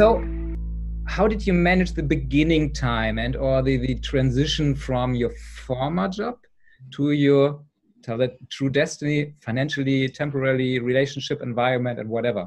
So how did you manage the beginning time and or the transition from your former job to your true destiny, financially, temporarily, relationship, environment, and whatever?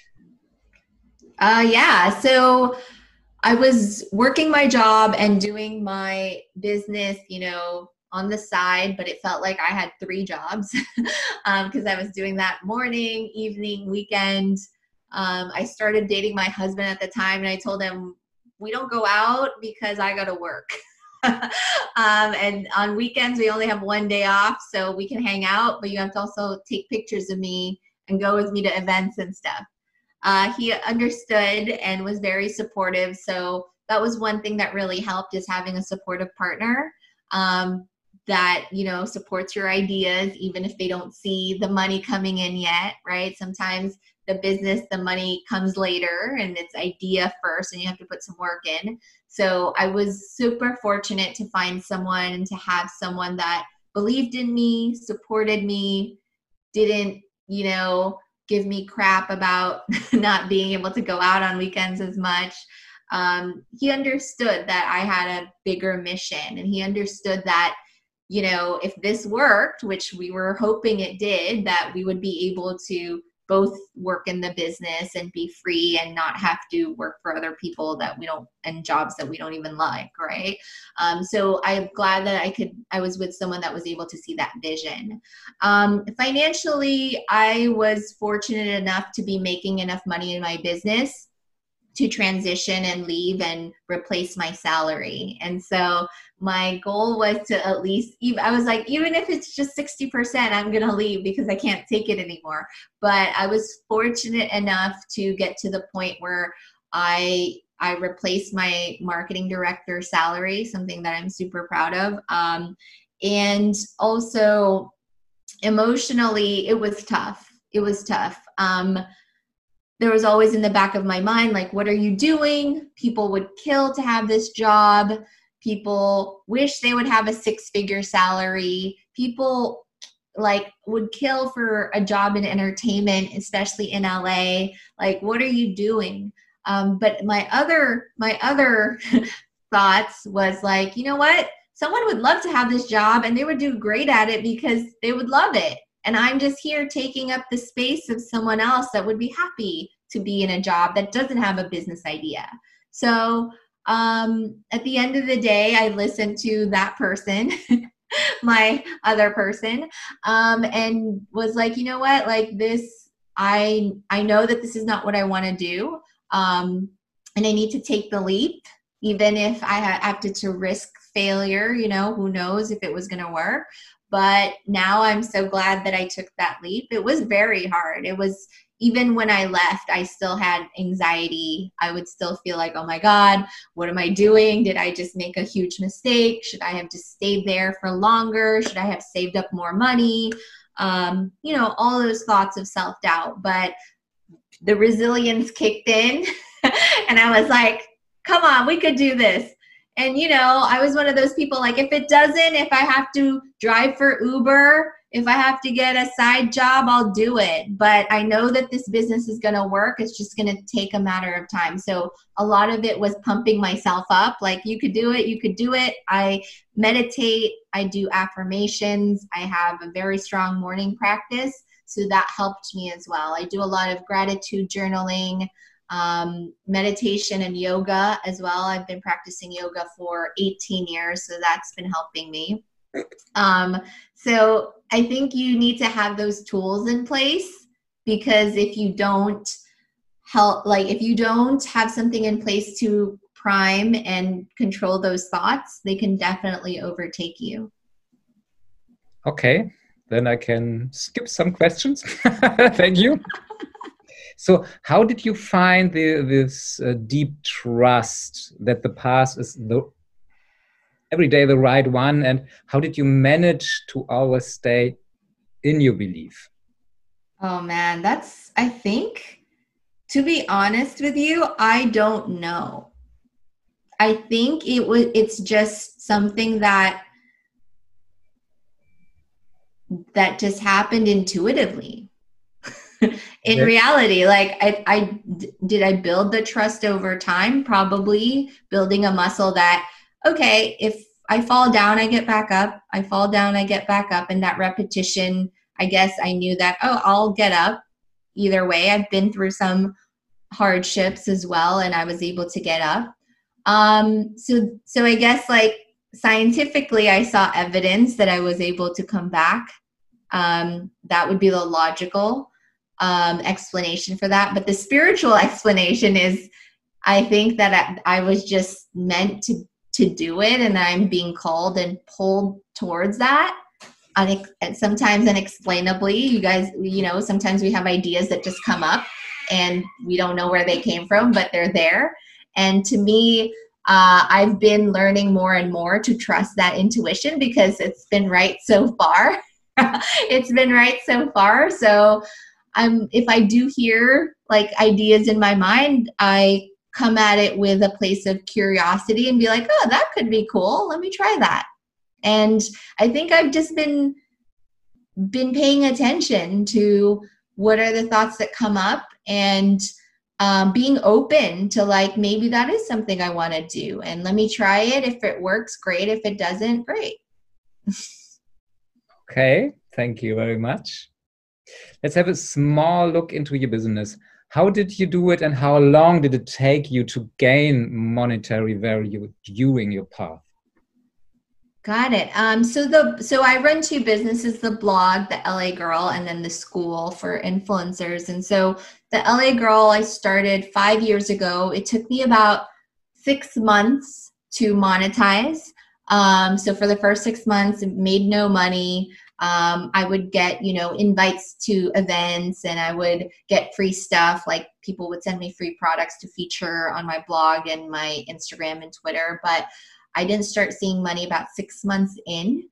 So I was working my job and doing my business, on the side, but it felt like I had three jobs because I was doing that morning, evening, weekend. I started dating my husband at the time, and I told him, we don't go out because I got to work. And on weekends, we only have one day off, so we can hang out, but you have to also take pictures of me and go with me to events and stuff. He understood and was very supportive. So that was one thing that really helped, is having a supportive partner that, supports your ideas, even if they don't see the money coming in yet, right? Sometimes the money comes later, and it's idea first, and you have to put some work in. So I was super fortunate to find someone and to have someone that believed in me, supported me, didn't, give me crap about not being able to go out on weekends as much. He understood that I had a bigger mission, and he understood that, if this worked, which we were hoping it did, that we would be able to both work in the business and be free and not have to work for other people and jobs that we don't even like, right? So I'm glad that I was with someone that was able to see that vision. Financially, I was fortunate enough to be making enough money in my business to transition and leave and replace my salary. And so my goal was to at least, I was like, even if it's just 60%, I'm going to leave because I can't take it anymore. But I was fortunate enough to get to the point where I replaced my marketing director salary, something that I'm super proud of. And also emotionally, it was tough. There was always in the back of my mind, like, what are you doing? People would kill to have this job. People wish they would have a six-figure salary. People would kill for a job in entertainment, especially in LA. Like, what are you doing? But my other thoughts was like, you know what? Someone would love to have this job, and they would do great at it because they would love it. And I'm just here taking up the space of someone else that would be happy to be in a job that doesn't have a business idea. So at the end of the day, I listened to that person, my other person, and was like, you know what, like this, I know that this is not what I want to do. And I need to take the leap, even if I have to risk failure, who knows if it was going to work. But now I'm so glad that I took that leap. It was very hard. Even when I left, I still had anxiety. I would still feel like, oh my God, what am I doing? Did I just make a huge mistake? Should I have just stayed there for longer? Should I have saved up more money? All those thoughts of self-doubt. But the resilience kicked in and I was like, come on, we could do this. And, I was one of those people, like, if I have to drive for Uber, if I have to get a side job, I'll do it. But I know that this business is going to work. It's just going to take a matter of time. So a lot of it was pumping myself up. Like, you could do it. You could do it. I meditate. I do affirmations. I have a very strong morning practice. So that helped me as well. I do a lot of gratitude journaling, meditation and yoga as well. I've been practicing yoga for 18 years, so that's been helping me. So I think you need to have those tools in place, because if you don't have something in place to prime and control those thoughts, they can definitely overtake you. Okay, then I can skip some questions. Thank you. So how did you find this deep trust that the path is every day the right one? And how did you manage to always stay in your belief? Oh man, I think, to be honest with you, I don't know. I think it's just something that just happened intuitively. in reality, like did I build the trust over time? Probably building a muscle that, okay, if I fall down, I get back up. I fall down, I get back up. And that repetition, I guess I knew that, oh, I'll get up either way. I've been through some hardships as well, and I was able to get up. So I guess like scientifically, I saw evidence that I was able to come back. That would be the logical explanation for that. But the spiritual explanation is, I think that I was just meant to do it, and I'm being called and pulled towards that. And sometimes unexplainably, you guys, sometimes we have ideas that just come up and we don't know where they came from, but they're there. And to me, I've been learning more and more to trust that intuition because it's been right so far. It's been right so far. So if I do hear like ideas in my mind, I come at it with a place of curiosity and be like, oh, that could be cool. Let me try that. And I think I've just been paying attention to what are the thoughts that come up, and being open to like, maybe that is something I want to do, and let me try it. If it works, great. If it doesn't, great. Okay, thank you very much. Let's have a small look into your business. How did you do it, and how long did it take you to gain monetary value during your path? Got it. So I run two businesses, the blog, the LA Girl, and then the school for influencers. And so the LA Girl, I started 5 years ago. It took me about 6 months to monetize. So for the first 6 months, it made no money. I would get, invites to events, and I would get free stuff. Like people would send me free products to feature on my blog and my Instagram and Twitter. But I didn't start seeing money about 6 months in.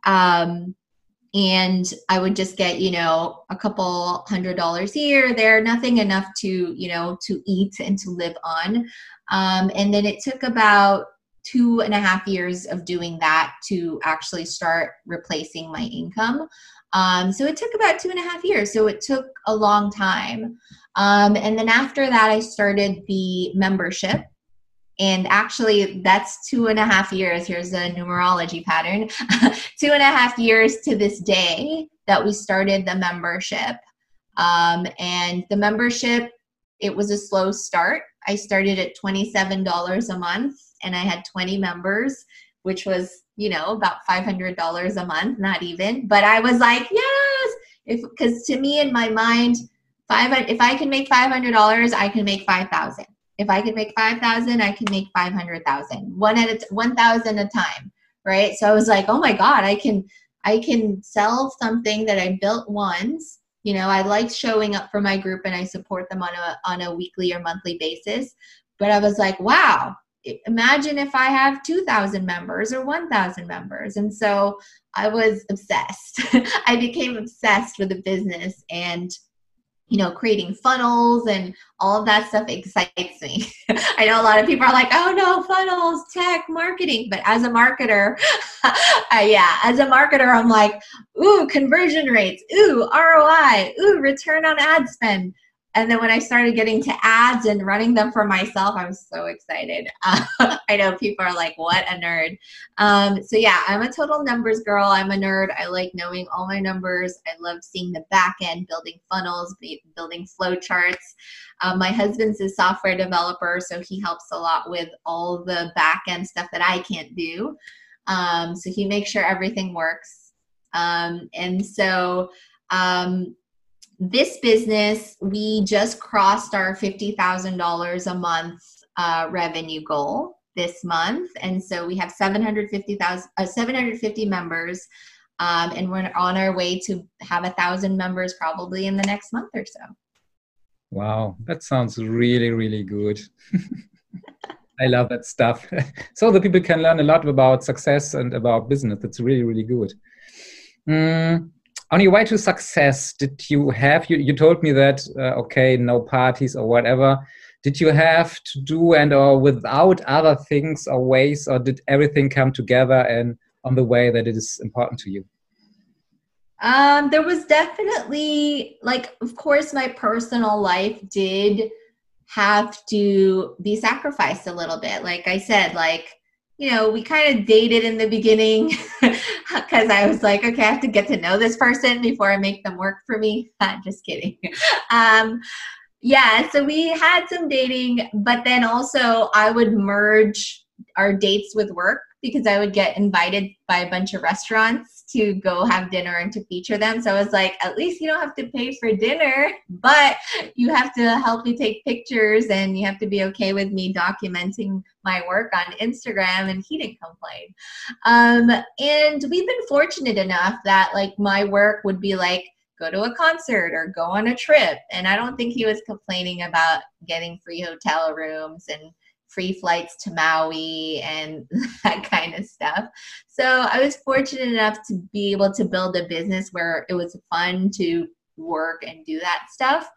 And I would just get, a couple $100 here or there, nothing enough to, to eat and to live on. And then it took about 2.5 years of doing that to actually start replacing my income. So it took about 2.5 years. So it took a long time. And then after that, I started the membership. And actually, that's 2.5 years. Here's a numerology pattern. 2.5 years to this day that we started the membership. And the membership, it was a slow start. I started at $27 a month, and I had 20 members, which was, about $500 a month, not even. But I was like, yes, because to me in my mind, if I can make $500, I can make 5,000. If I can make 5,000, I can make 500,000. 1,000 a time, right? So I was like, oh my God, I can sell something that I built once. I like showing up for my group, and I support them on a weekly or monthly basis. But I was like, wow, imagine if I have 2,000 members or 1,000 members. And so I was obsessed. I became obsessed with the business, and creating funnels and all of that stuff excites me. I know a lot of people are like, oh no, funnels, tech, marketing. But as a marketer, I'm like, ooh, conversion rates, ooh, ROI, ooh, return on ad spend. And then when I started getting to ads and running them for myself, I was so excited. I know people are like, what a nerd. So yeah, I'm a total numbers girl. I'm a nerd. I like knowing all my numbers. I love seeing the back end, building funnels, building flow charts. My husband's a software developer, so he helps a lot with all the back end stuff that I can't do. So he makes sure everything works. This business, we just crossed our $50,000 a month revenue goal this month. And so we have 750 members, and we're on our way to have 1,000 members probably in the next month or so. Wow, that sounds really, really good. I love that stuff. So the people can learn a lot about success and about business. That's really, really good. On your way to success, did you have, you told me that, no parties or whatever. Did you have to do or without other things or ways, or did everything come together and on the way that it is important to you? There was definitely, like, of course, my personal life did have to be sacrificed a little bit. Like I said, like, we kind of dated in the beginning because I was like, okay, I have to get to know this person before I make them work for me. Just kidding. Um, yeah, so we had some dating, but then also I would merge our dates with work because I would get invited by a bunch of restaurants to go have dinner and to feature them. So I was like, at least you don't have to pay for dinner, but you have to help me take pictures and you have to be okay with me documenting my work on Instagram. And he didn't complain. And we've been fortunate enough that like my work would be like, go to a concert or go on a trip. And I don't think he was complaining about getting free hotel rooms and free flights to Maui and that kind of stuff. So I was fortunate enough to be able to build a business where it was fun to work and do that stuff.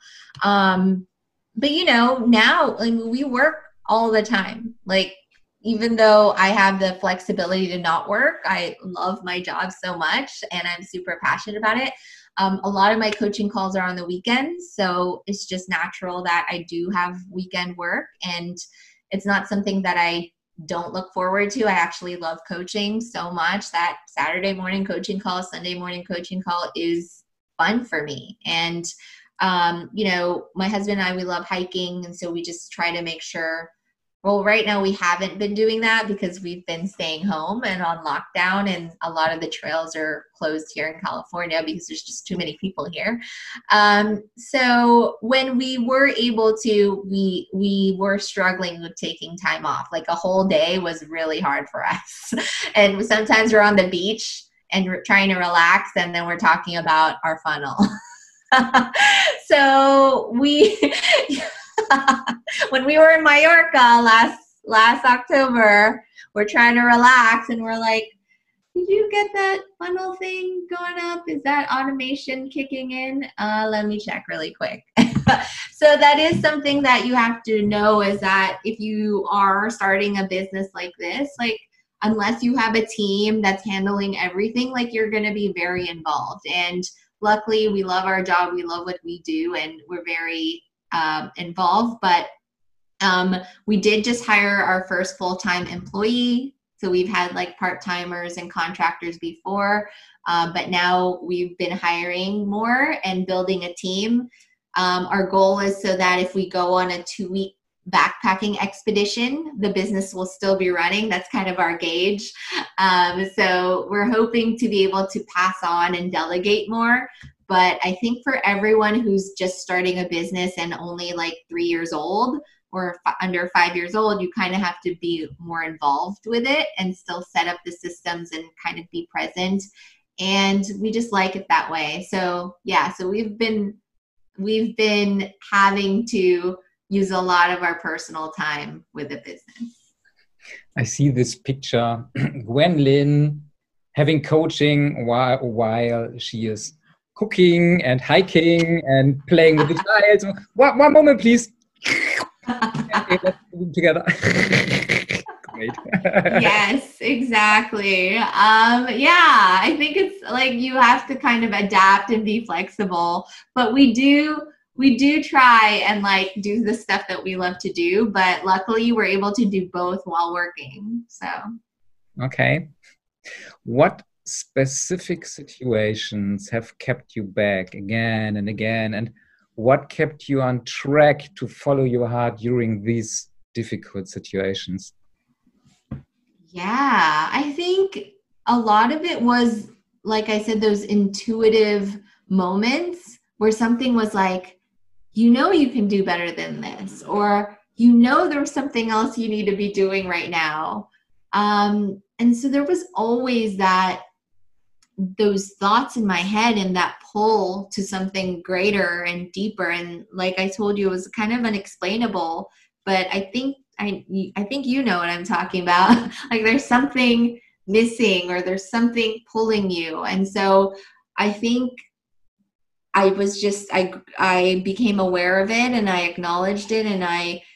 But now we work all the time. Like, even though I have the flexibility to not work, I love my job so much and I'm super passionate about it. A lot of my coaching calls are on the weekends, so it's just natural that I do have weekend work, and it's not something that I don't look forward to. I actually love coaching so much that Saturday morning coaching call, Sunday morning coaching call is fun for me. And, my husband and I, we love hiking, and so we just try to make sure. Well, right now we haven't been doing that because we've been staying home and on lockdown, and a lot of the trails are closed here in California because there's just too many people here. So when we were able to, we were struggling with taking time off. Like a whole day was really hard for us. And sometimes we're on the beach and we're trying to relax, and then we're talking about our funnel. So when we were in Mallorca last October, we're trying to relax and we're like, did you get that funnel thing going up? Is that automation kicking in? Let me check really quick. So that is something that you have to know, is that if you are starting a business like this, like unless you have a team that's handling everything, like you're going to be very involved. And luckily we love our job. We love what we do and we're very involved, but we did just hire our first full-time employee. So we've had like part-timers and contractors before, but now we've been hiring more and building a team. Our goal is so that if we go on a 2-week backpacking expedition, the business will still be running. That's kind of our gauge. So we're hoping to be able to pass on and delegate more. But I think for everyone who's just starting a business and only like 3 years old or under 5 years old, you kind of have to be more involved with it and still set up the systems and kind of be present. And we just like it that way. So yeah, so we've been having to use a lot of our personal time with the business. I see this picture, Gwendolyn having coaching while she is cooking and hiking and playing with the child. One moment, please. Okay, let's do it together. Great. Yes, exactly. Yeah, I think it's like you have to kind of adapt and be flexible, but we do try and like do the stuff that we love to do, but luckily we're able to do both while working. So. Okay. What specific situations have kept you back again and again, and what kept you on track to follow your heart during these difficult situations? Yeah, I think a lot of it was, like I said, those intuitive moments where something was like, you can do better than this, or there's something else you need to be doing right now. And so there was always those thoughts in my head and that pull to something greater and deeper. And like I told you, it was kind of unexplainable, but I think you know what I'm talking about. Like there's something missing or there's something pulling you. And so I think I became aware of it and I acknowledged it, and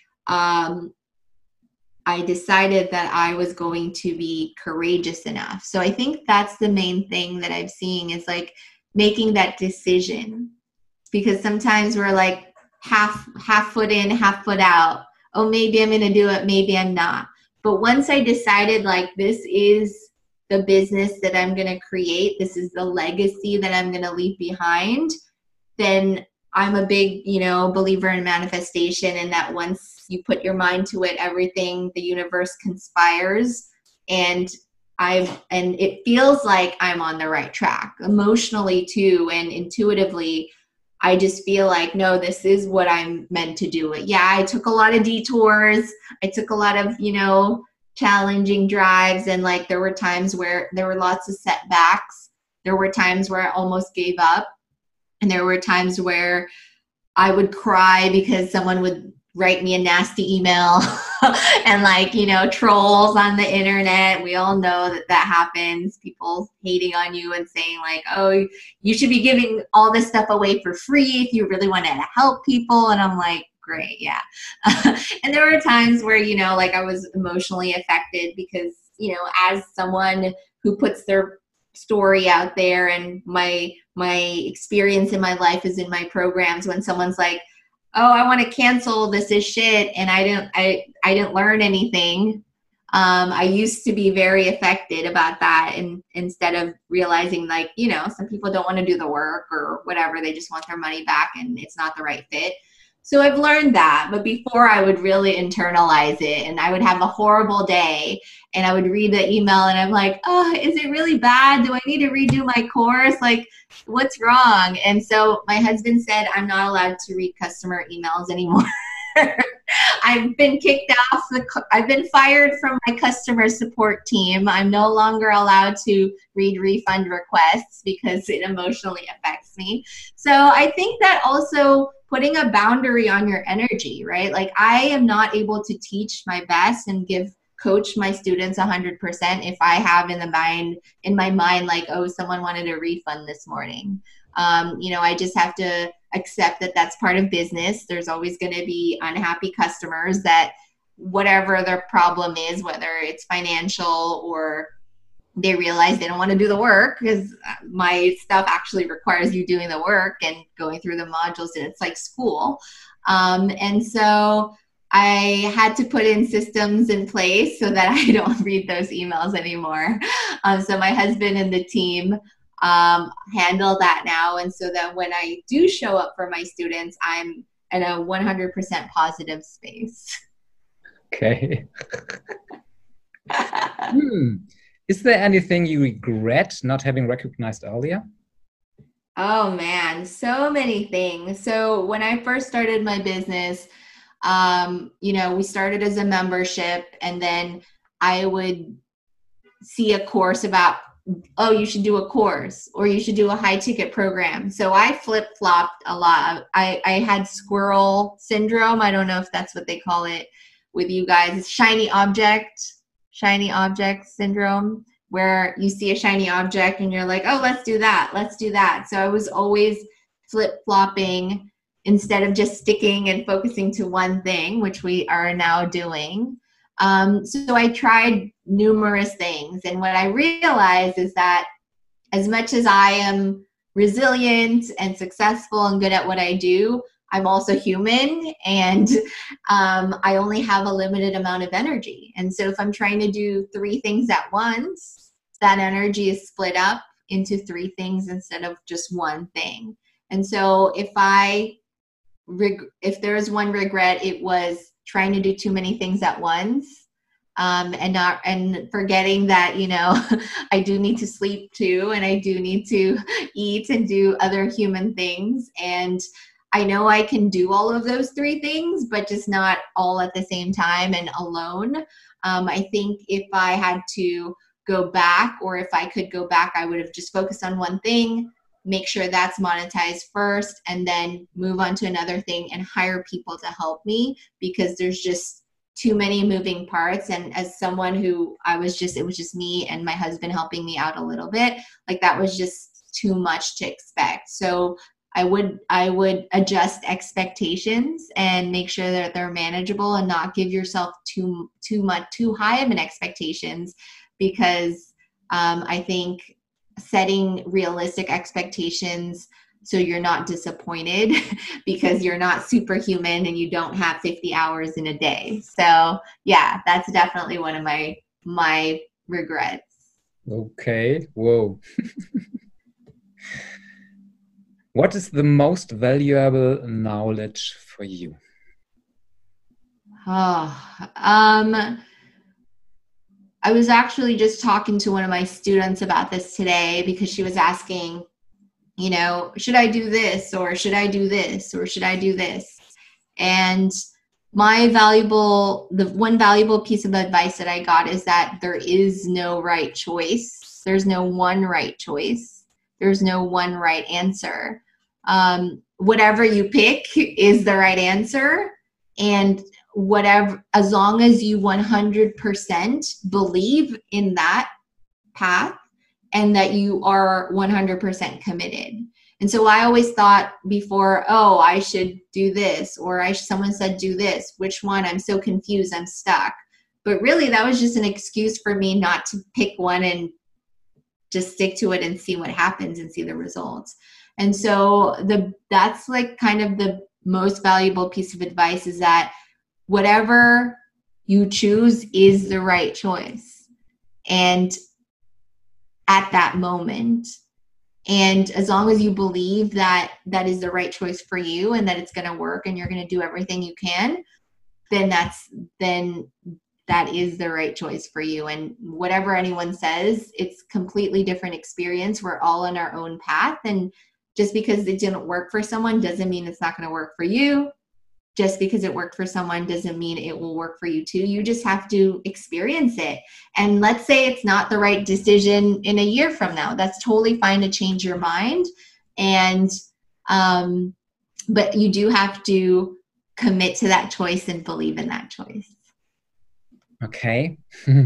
I decided that I was going to be courageous enough. So I think that's the main thing that I'm seeing is like making that decision, because sometimes we're like half foot in, half foot out. Oh, maybe I'm going to do it. Maybe I'm not. But once I decided like this is the business that I'm going to create, this is the legacy that I'm going to leave behind, then I'm a big, believer in manifestation, and that once you put your mind to it, everything, the universe conspires, and it feels like I'm on the right track emotionally too, and intuitively. I just feel like, no, this is what I'm meant to do. Yeah, I took a lot of detours. I took a lot of, challenging drives. And like, there were times where there were lots of setbacks. There were times where I almost gave up. And there were times where I would cry because someone would write me a nasty email and like, trolls on the internet. We all know that happens. People hating on you and saying like, oh, you should be giving all this stuff away for free if you really wanted to help people. And I'm like, great. Yeah. And there were times where, like I was emotionally affected because, as someone who puts their story out there, and my experience in my life is in my programs, when someone's like, oh, I want to cancel, this is shit, and I didn't learn anything. I used to be very affected about that, and instead of realizing like, some people don't want to do the work or whatever, they just want their money back and it's not the right fit. So I've learned that, but before I would really internalize it, and I would have a horrible day and I would read the email and I'm like, oh, is it really bad? Do I need to redo my course? Like, what's wrong? And so my husband said, I'm not allowed to read customer emails anymore. I've been kicked off. I've been fired from my customer support team. I'm no longer allowed to read refund requests because it emotionally affects me. So I think that also putting a boundary on your energy, right? Like I am not able to teach my best and coach my students 100% if I have in my mind, like, oh, someone wanted a refund this morning. I just have to accept that that's part of business. There's always going to be unhappy customers that whatever their problem is, whether it's financial or they realize they don't want to do the work, because my stuff actually requires you doing the work and going through the modules, and it's like school. And so I had to put in systems in place so that I don't read those emails anymore. So my husband and the team handle that now. And so that when I do show up for my students, I'm in a 100% positive space. Okay. Is there anything you regret not having recognized earlier? Oh man, so many things. So when I first started my business, we started as a membership, and then I would see a course about, oh, you should do a course or you should do a high ticket program. So I flip-flopped a lot. I had squirrel syndrome. I don't know if that's what they call it with you guys. It's shiny object syndrome, where you see a shiny object and you're like, oh, let's do that. So I was always flip-flopping instead of just sticking and focusing to one thing, which we are now doing. So I tried numerous things. And what I realized is that as much as I am resilient and successful and good at what I do, I'm also human, and I only have a limited amount of energy. And so if I'm trying to do 3 things at once, that energy is split up into 3 things instead of just one thing. And so if there's one regret, it was trying to do too many things at once, and forgetting that, I do need to sleep too, and I do need to eat and do other human things. And I know I can do all of those 3 things, but just not all at the same time and alone. I think if I had to go back, or if I could go back, I would have just focused on one thing, make sure that's monetized first, and then move on to another thing and hire people to help me, because there's just too many moving parts. And as someone who it was just me and my husband helping me out a little bit, like that was just too much to expect. So I would adjust expectations and make sure that they're manageable, and not give yourself too high of an expectations, because I think setting realistic expectations so you're not disappointed because you're not superhuman and you don't have 50 hours in a day. So yeah, that's definitely one of my regrets. Okay. Whoa. What is the most valuable knowledge for you? I was actually just talking to one of my students about this today because she was asking, you know, should I do this or should I do this or should I do this? And the one valuable piece of advice that I got is that there is no right choice. There's no one right choice. There's no one right answer. Whatever you pick is the right answer. And whatever, as long as you 100% believe in that path and that you are 100% committed. And so I always thought before, oh, I should do this, or someone said do this, which one? I'm so confused, I'm stuck. But really that was just an excuse for me not to pick one and just stick to it and see what happens and see the results. And so that's like kind of the most valuable piece of advice, is that whatever you choose is the right choice. And at that moment, and as long as you believe that that is the right choice for you and that it's going to work and you're going to do everything you can, then that is the right choice for you. And whatever anyone says, it's completely different experience. We're all on our own path. And just because it didn't work for someone doesn't mean it's not going to work for you. Just because it worked for someone doesn't mean it will work for you too. You just have to experience it. And let's say it's not the right decision in a year from now. That's totally fine to change your mind. And, but you do have to commit to that choice and believe in that choice. Okay.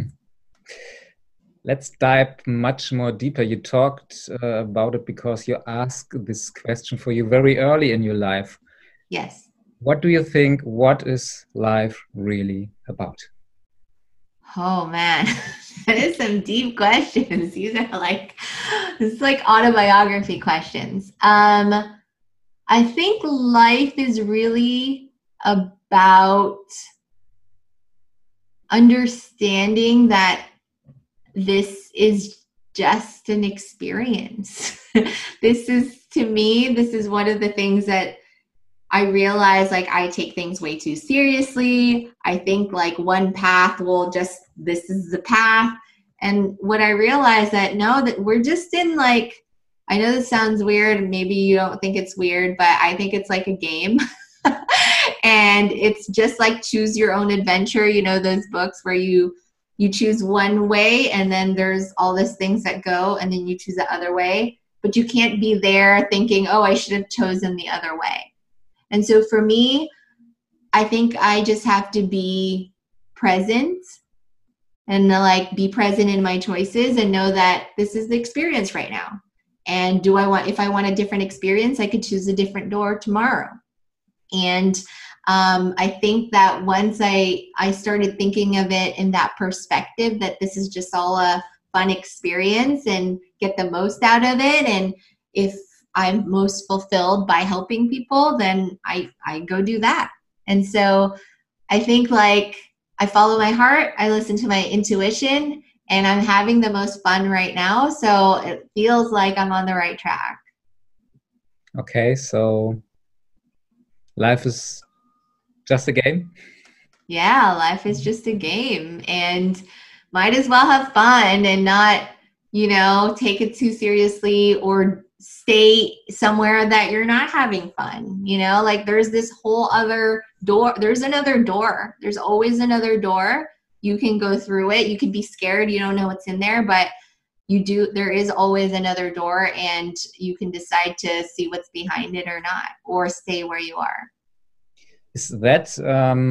Let's dive much more deeper. You talked about it because you asked this question for you very early in your life. Yes. What do you think? What is life really about? Oh man, that is some deep questions. These are it's like autobiography questions. I think life is really about understanding that this is just an experience. This is one of the things that I realize, like, I take things way too seriously. I think like one path this is the path. And what I realized that we're just in like, I know this sounds weird. Maybe you don't think it's weird, but I think it's like a game. And it's just like choose your own adventure. You know, those books where you choose one way and then there's all these things that go and then you choose the other way, but you can't be there thinking, oh, I should have chosen the other way. And so for me, I think I just have to be present and like be present in my choices and know that this is the experience right now. And if I want a different experience, I could choose a different door tomorrow. And I think that once I started thinking of it in that perspective, that this is just all a fun experience and get the most out of it. And if I'm most fulfilled by helping people, then I go do that. And so I think like I follow my heart, I listen to my intuition, and I'm having the most fun right now. So it feels like I'm on the right track. Okay, so life is just a game? Yeah, life is just a game, and might as well have fun and not, take it too seriously or stay somewhere that you're not having fun. Like there's this whole other door. There's another door. There's always another door. You can go through it. You can be scared. You don't know what's in there, but there is always another door, and you can decide to see what's behind it or not, or stay where you are. Is that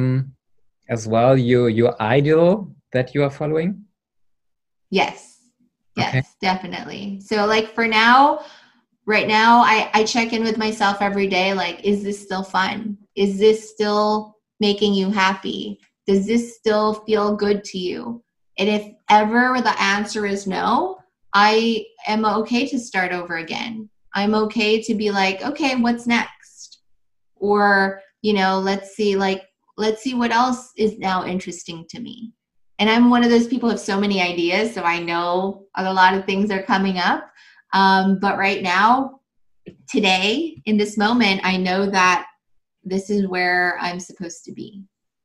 as well your ideal that you are following? Yes, okay. Definitely. So like for now, right now, I check in with myself every day. Like, is this still fun? Is this still making you happy? Does this still feel good to you? And if ever the answer is no, I am okay to start over again. I'm okay to be like, okay, what's next? Or, let's see what else is now interesting to me. And I'm one of those people who have so many ideas, so I know a lot of things are coming up. But right now, today, in this moment, I know that this is where I'm supposed to be.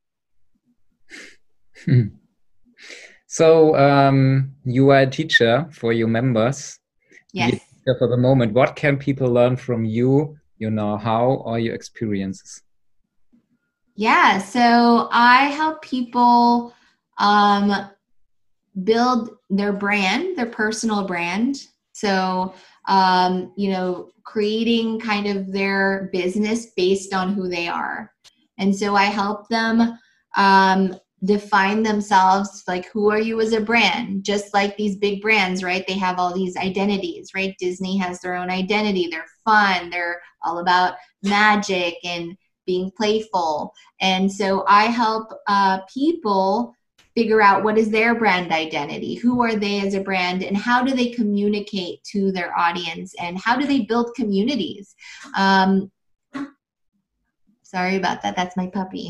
So you are a teacher for your members. Yes. For the moment, what can people learn from you, your know-how or your experiences? Yeah, so I help people build their brand, their personal brand. So, creating kind of their business based on who they are. And so I help them define themselves, like, who are you as a brand? Just like these big brands, right? They have all these identities, right? Disney has their own identity. They're fun. They're all about magic and being playful. And so I help people figure out what is their brand identity, who are they as a brand, and how do they communicate to their audience, and how do they build communities. Sorry about that. That's my puppy.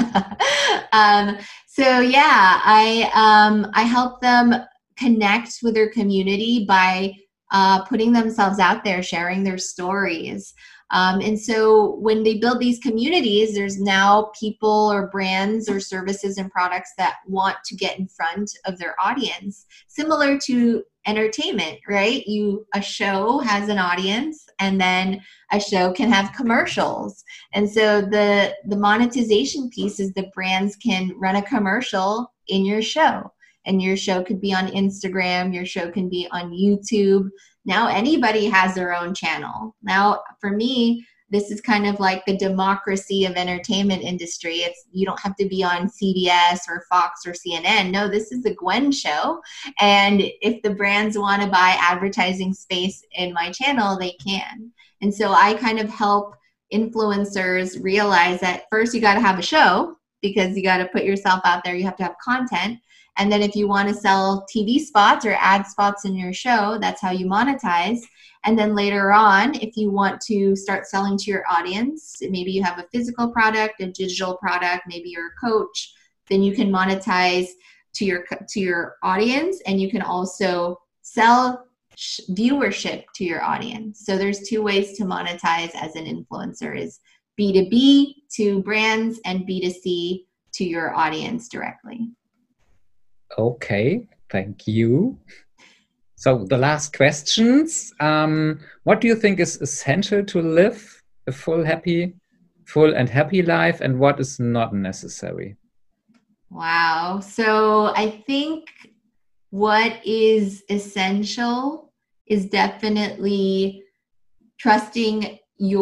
So yeah, I help them connect with their community by putting themselves out there, sharing their stories. And so when they build these communities, there's now people or brands or services and products that want to get in front of their audience, similar to entertainment, right? A show has an audience, and then a show can have commercials. And so the monetization piece is the brands can run a commercial in your show, and your show could be on Instagram, your show can be on YouTube. Now anybody has their own channel. Now for me, this is kind of like the democracy of entertainment industry. You don't have to be on CBS or Fox or CNN. No, this is the Gwen show. And if the brands want to buy advertising space in my channel, they can. And so I kind of help influencers realize that first you got to have a show, because you got to put yourself out there. You have to have content. And then if you want to sell TV spots or ad spots in your show, that's how you monetize. And then later on, if you want to start selling to your audience, maybe you have a physical product, a digital product, maybe you're a coach, then you can monetize to your audience, and you can also sell viewership to your audience. So there's two ways to monetize as an influencer: is B2B to brands and B2C to your audience directly. Okay, thank you. So the last questions. What do you think is essential to live a full and happy life, and what is not necessary? Wow. So I think what is essential is definitely trusting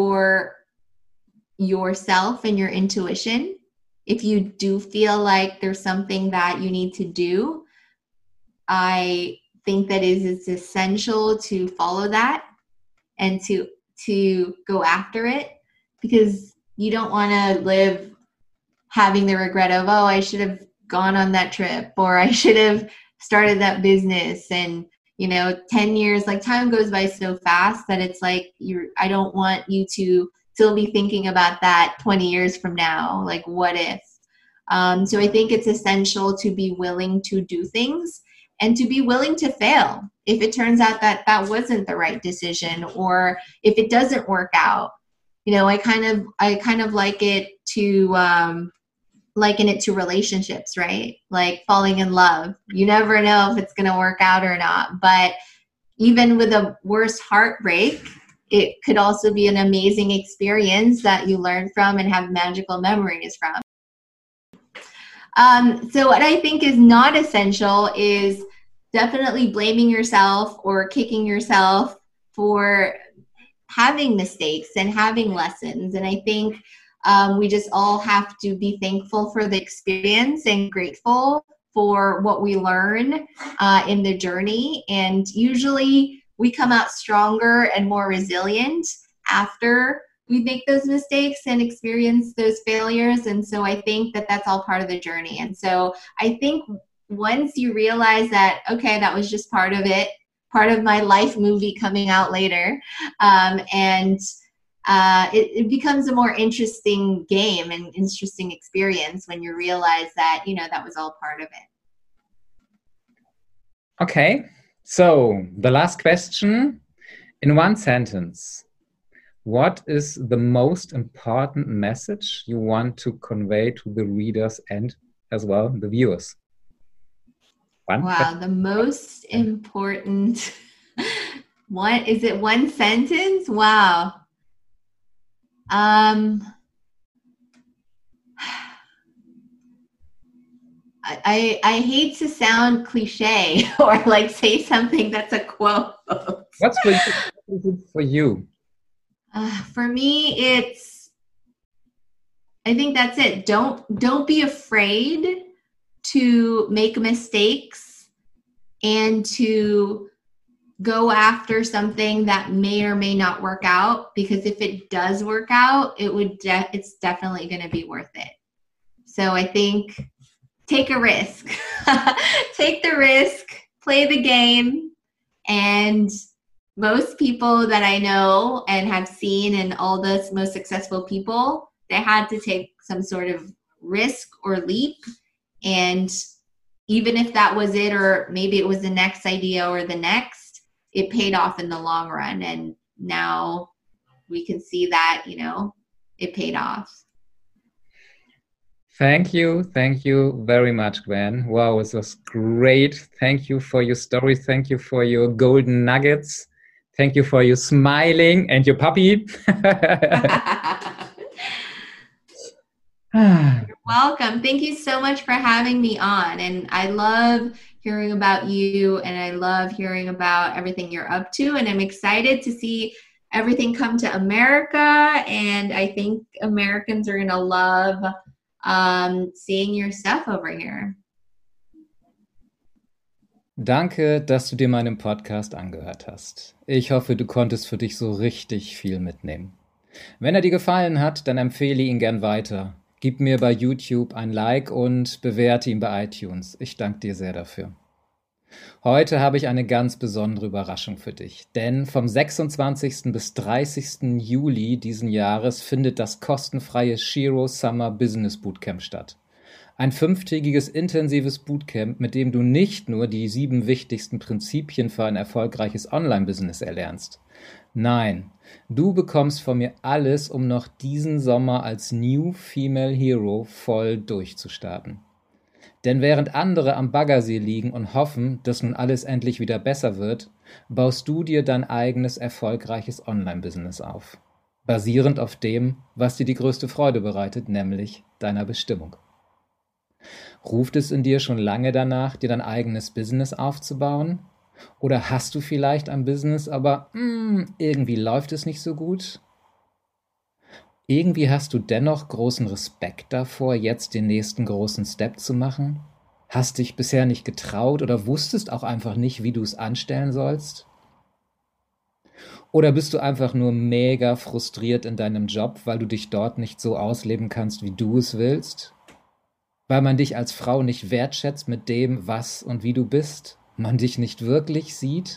yourself and your intuition. If you do feel like there's something that you need to do, I think that it's essential to follow that and to go after it, because you don't want to live having the regret of, oh, I should have gone on that trip, or I should have started that business. And 10 years, like, time goes by so fast that it's like I don't want you to still be thinking about that 20 years from now, like, what if? So I think it's essential to be willing to do things and to be willing to fail. If it turns out that wasn't the right decision, or if it doesn't work out, I kind of like it to liken it to relationships, right? Like falling in love. You never know if it's going to work out or not. But even with a worst heartbreak, it could also be an amazing experience that you learn from and have magical memories from. So what I think is not essential is definitely blaming yourself or kicking yourself for having mistakes and having lessons. And I think we just all have to be thankful for the experience and grateful for what we learn in the journey. And usually we come out stronger and more resilient after we make those mistakes and experience those failures. And so I think that that's all part of the journey. And so I think once you realize that, okay, that was just part of it, part of my life movie coming out later. And it becomes a more interesting game and interesting experience when you realize that, that was all part of it. Okay, so the last question. In one sentence, what is the most important message you want to convey to the readers and as well the viewers? Wow, the most important one, is it one sentence? Wow. I hate to sound cliche or like say something that's a quote. What's for you? For me, I think that's it. Don't be afraid to make mistakes and to go after something that may or may not work out, because if it does work out, it's definitely going to be worth it. So I think take a risk. Take the risk, play the game, and most people that I know and have seen, and all the most successful people, they had to take some sort of risk or leap. And even if that was it, or maybe it was the next idea or the next, it paid off in the long run. And now we can see that, it paid off. Thank you very much, Gwen. Wow, it was great. Thank you for your story. Thank you for your golden nuggets. Thank you for your smiling and your puppy. You're welcome. Thank you so much for having me on. And I love hearing about you, and I love hearing about everything you're up to. And I'm excited to see everything come to America. And I think Americans are going to love seeing your stuff over here. Danke, dass du dir meinen Podcast angehört hast. Ich hoffe, du konntest für dich so richtig viel mitnehmen. Wenn er dir gefallen hat, dann empfehle ihn gern weiter. Gib mir bei YouTube ein Like und bewerte ihn bei iTunes. Ich danke dir sehr dafür. Heute habe ich eine ganz besondere Überraschung für dich, denn vom 26. bis 30. Juli diesen Jahres findet das kostenfreie Shiro Summer Business Bootcamp statt. Ein 5-tägiges intensives Bootcamp, mit dem du nicht nur die 7 wichtigsten Prinzipien für ein erfolgreiches Online-Business erlernst. Nein, du bekommst von mir alles, um noch diesen Sommer als New Female Hero voll durchzustarten. Denn während andere am Baggersee liegen und hoffen, dass nun alles endlich wieder besser wird, baust du dir dein eigenes erfolgreiches Online-Business auf. Basierend auf dem, was dir die größte Freude bereitet, nämlich deiner Bestimmung. Ruft es in dir schon lange danach, dir dein eigenes Business aufzubauen? Oder hast du vielleicht ein Business, aber irgendwie läuft es nicht so gut? Irgendwie hast du dennoch großen Respekt davor, jetzt den nächsten großen Step zu machen? Hast dich bisher nicht getraut oder wusstest auch einfach nicht, wie du es anstellen sollst? Oder bist du einfach nur mega frustriert in deinem Job, weil du dich dort nicht so ausleben kannst, wie du es willst? Weil man dich als Frau nicht wertschätzt mit dem, was und wie du bist? Man dich nicht wirklich sieht?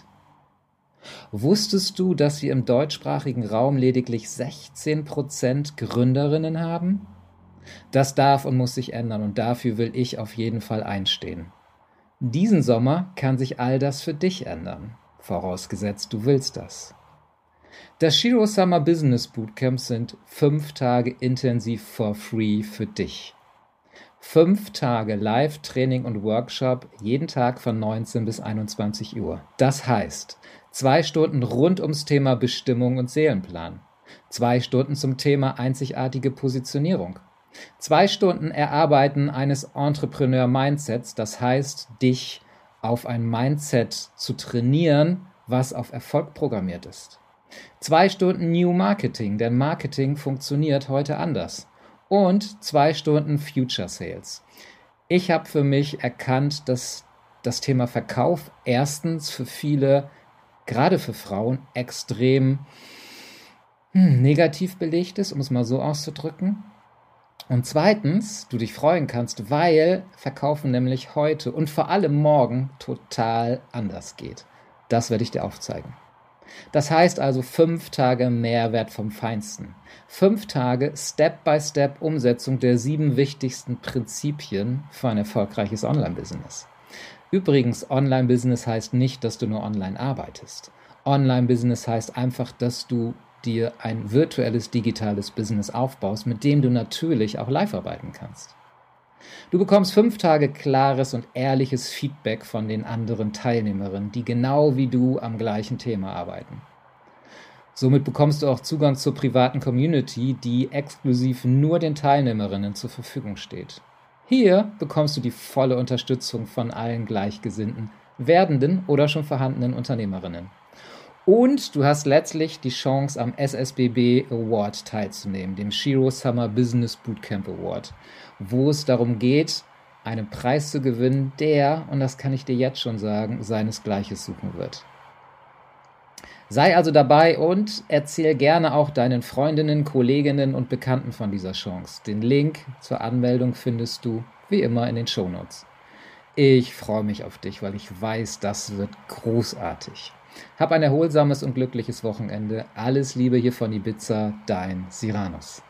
Wusstest du, dass wir im deutschsprachigen Raum lediglich 16% Gründerinnen haben? Das darf und muss sich ändern, und dafür will ich auf jeden Fall einstehen. Diesen Sommer kann sich all das für dich ändern, vorausgesetzt du willst das. Das Shiro Summer Business Bootcamp sind 5 Tage intensiv for free für dich. 5 Tage Live-Training und Workshop, jeden Tag von 19 bis 21 Uhr. Das heißt, 2 Stunden rund ums Thema Bestimmung und Seelenplan. 2 Stunden zum Thema einzigartige Positionierung. 2 Stunden Erarbeiten eines Entrepreneur-Mindsets, das heißt, dich auf ein Mindset zu trainieren, was auf Erfolg programmiert ist. 2 Stunden New Marketing, denn Marketing funktioniert heute anders. Und 2 Stunden Future Sales. Ich habe für mich erkannt, dass das Thema Verkauf erstens für viele, gerade für Frauen, extrem negativ belegt ist, um es mal so auszudrücken. Und zweitens, du dich freuen kannst, weil Verkaufen nämlich heute und vor allem morgen total anders geht. Das werde ich dir aufzeigen. Das heißt also 5 Tage Mehrwert vom Feinsten. 5 Tage Step-by-Step Umsetzung der 7 wichtigsten Prinzipien für ein erfolgreiches Online-Business. Übrigens, Online-Business heißt nicht, dass du nur online arbeitest. Online-Business heißt einfach, dass du dir ein virtuelles, digitales Business aufbaust, mit dem du natürlich auch live arbeiten kannst. Du bekommst 5 Tage klares und ehrliches Feedback von den anderen Teilnehmerinnen, die genau wie du am gleichen Thema arbeiten. Somit bekommst du auch Zugang zur privaten Community, die exklusiv nur den Teilnehmerinnen zur Verfügung steht. Hier bekommst du die volle Unterstützung von allen gleichgesinnten, werdenden oder schon vorhandenen Unternehmerinnen. Und du hast letztlich die Chance, am SSBB Award teilzunehmen, dem Shiro Summer Business Bootcamp Award, wo es darum geht, einen Preis zu gewinnen, der, und das kann ich dir jetzt schon sagen, seinesgleichen suchen wird. Sei also dabei und erzähl gerne auch deinen Freundinnen, Kolleginnen und Bekannten von dieser Chance. Den Link zur Anmeldung findest du wie immer in den Shownotes. Ich freue mich auf dich, weil ich weiß, das wird großartig. Hab ein erholsames und glückliches Wochenende. Alles Liebe hier von Ibiza, dein Cyranus.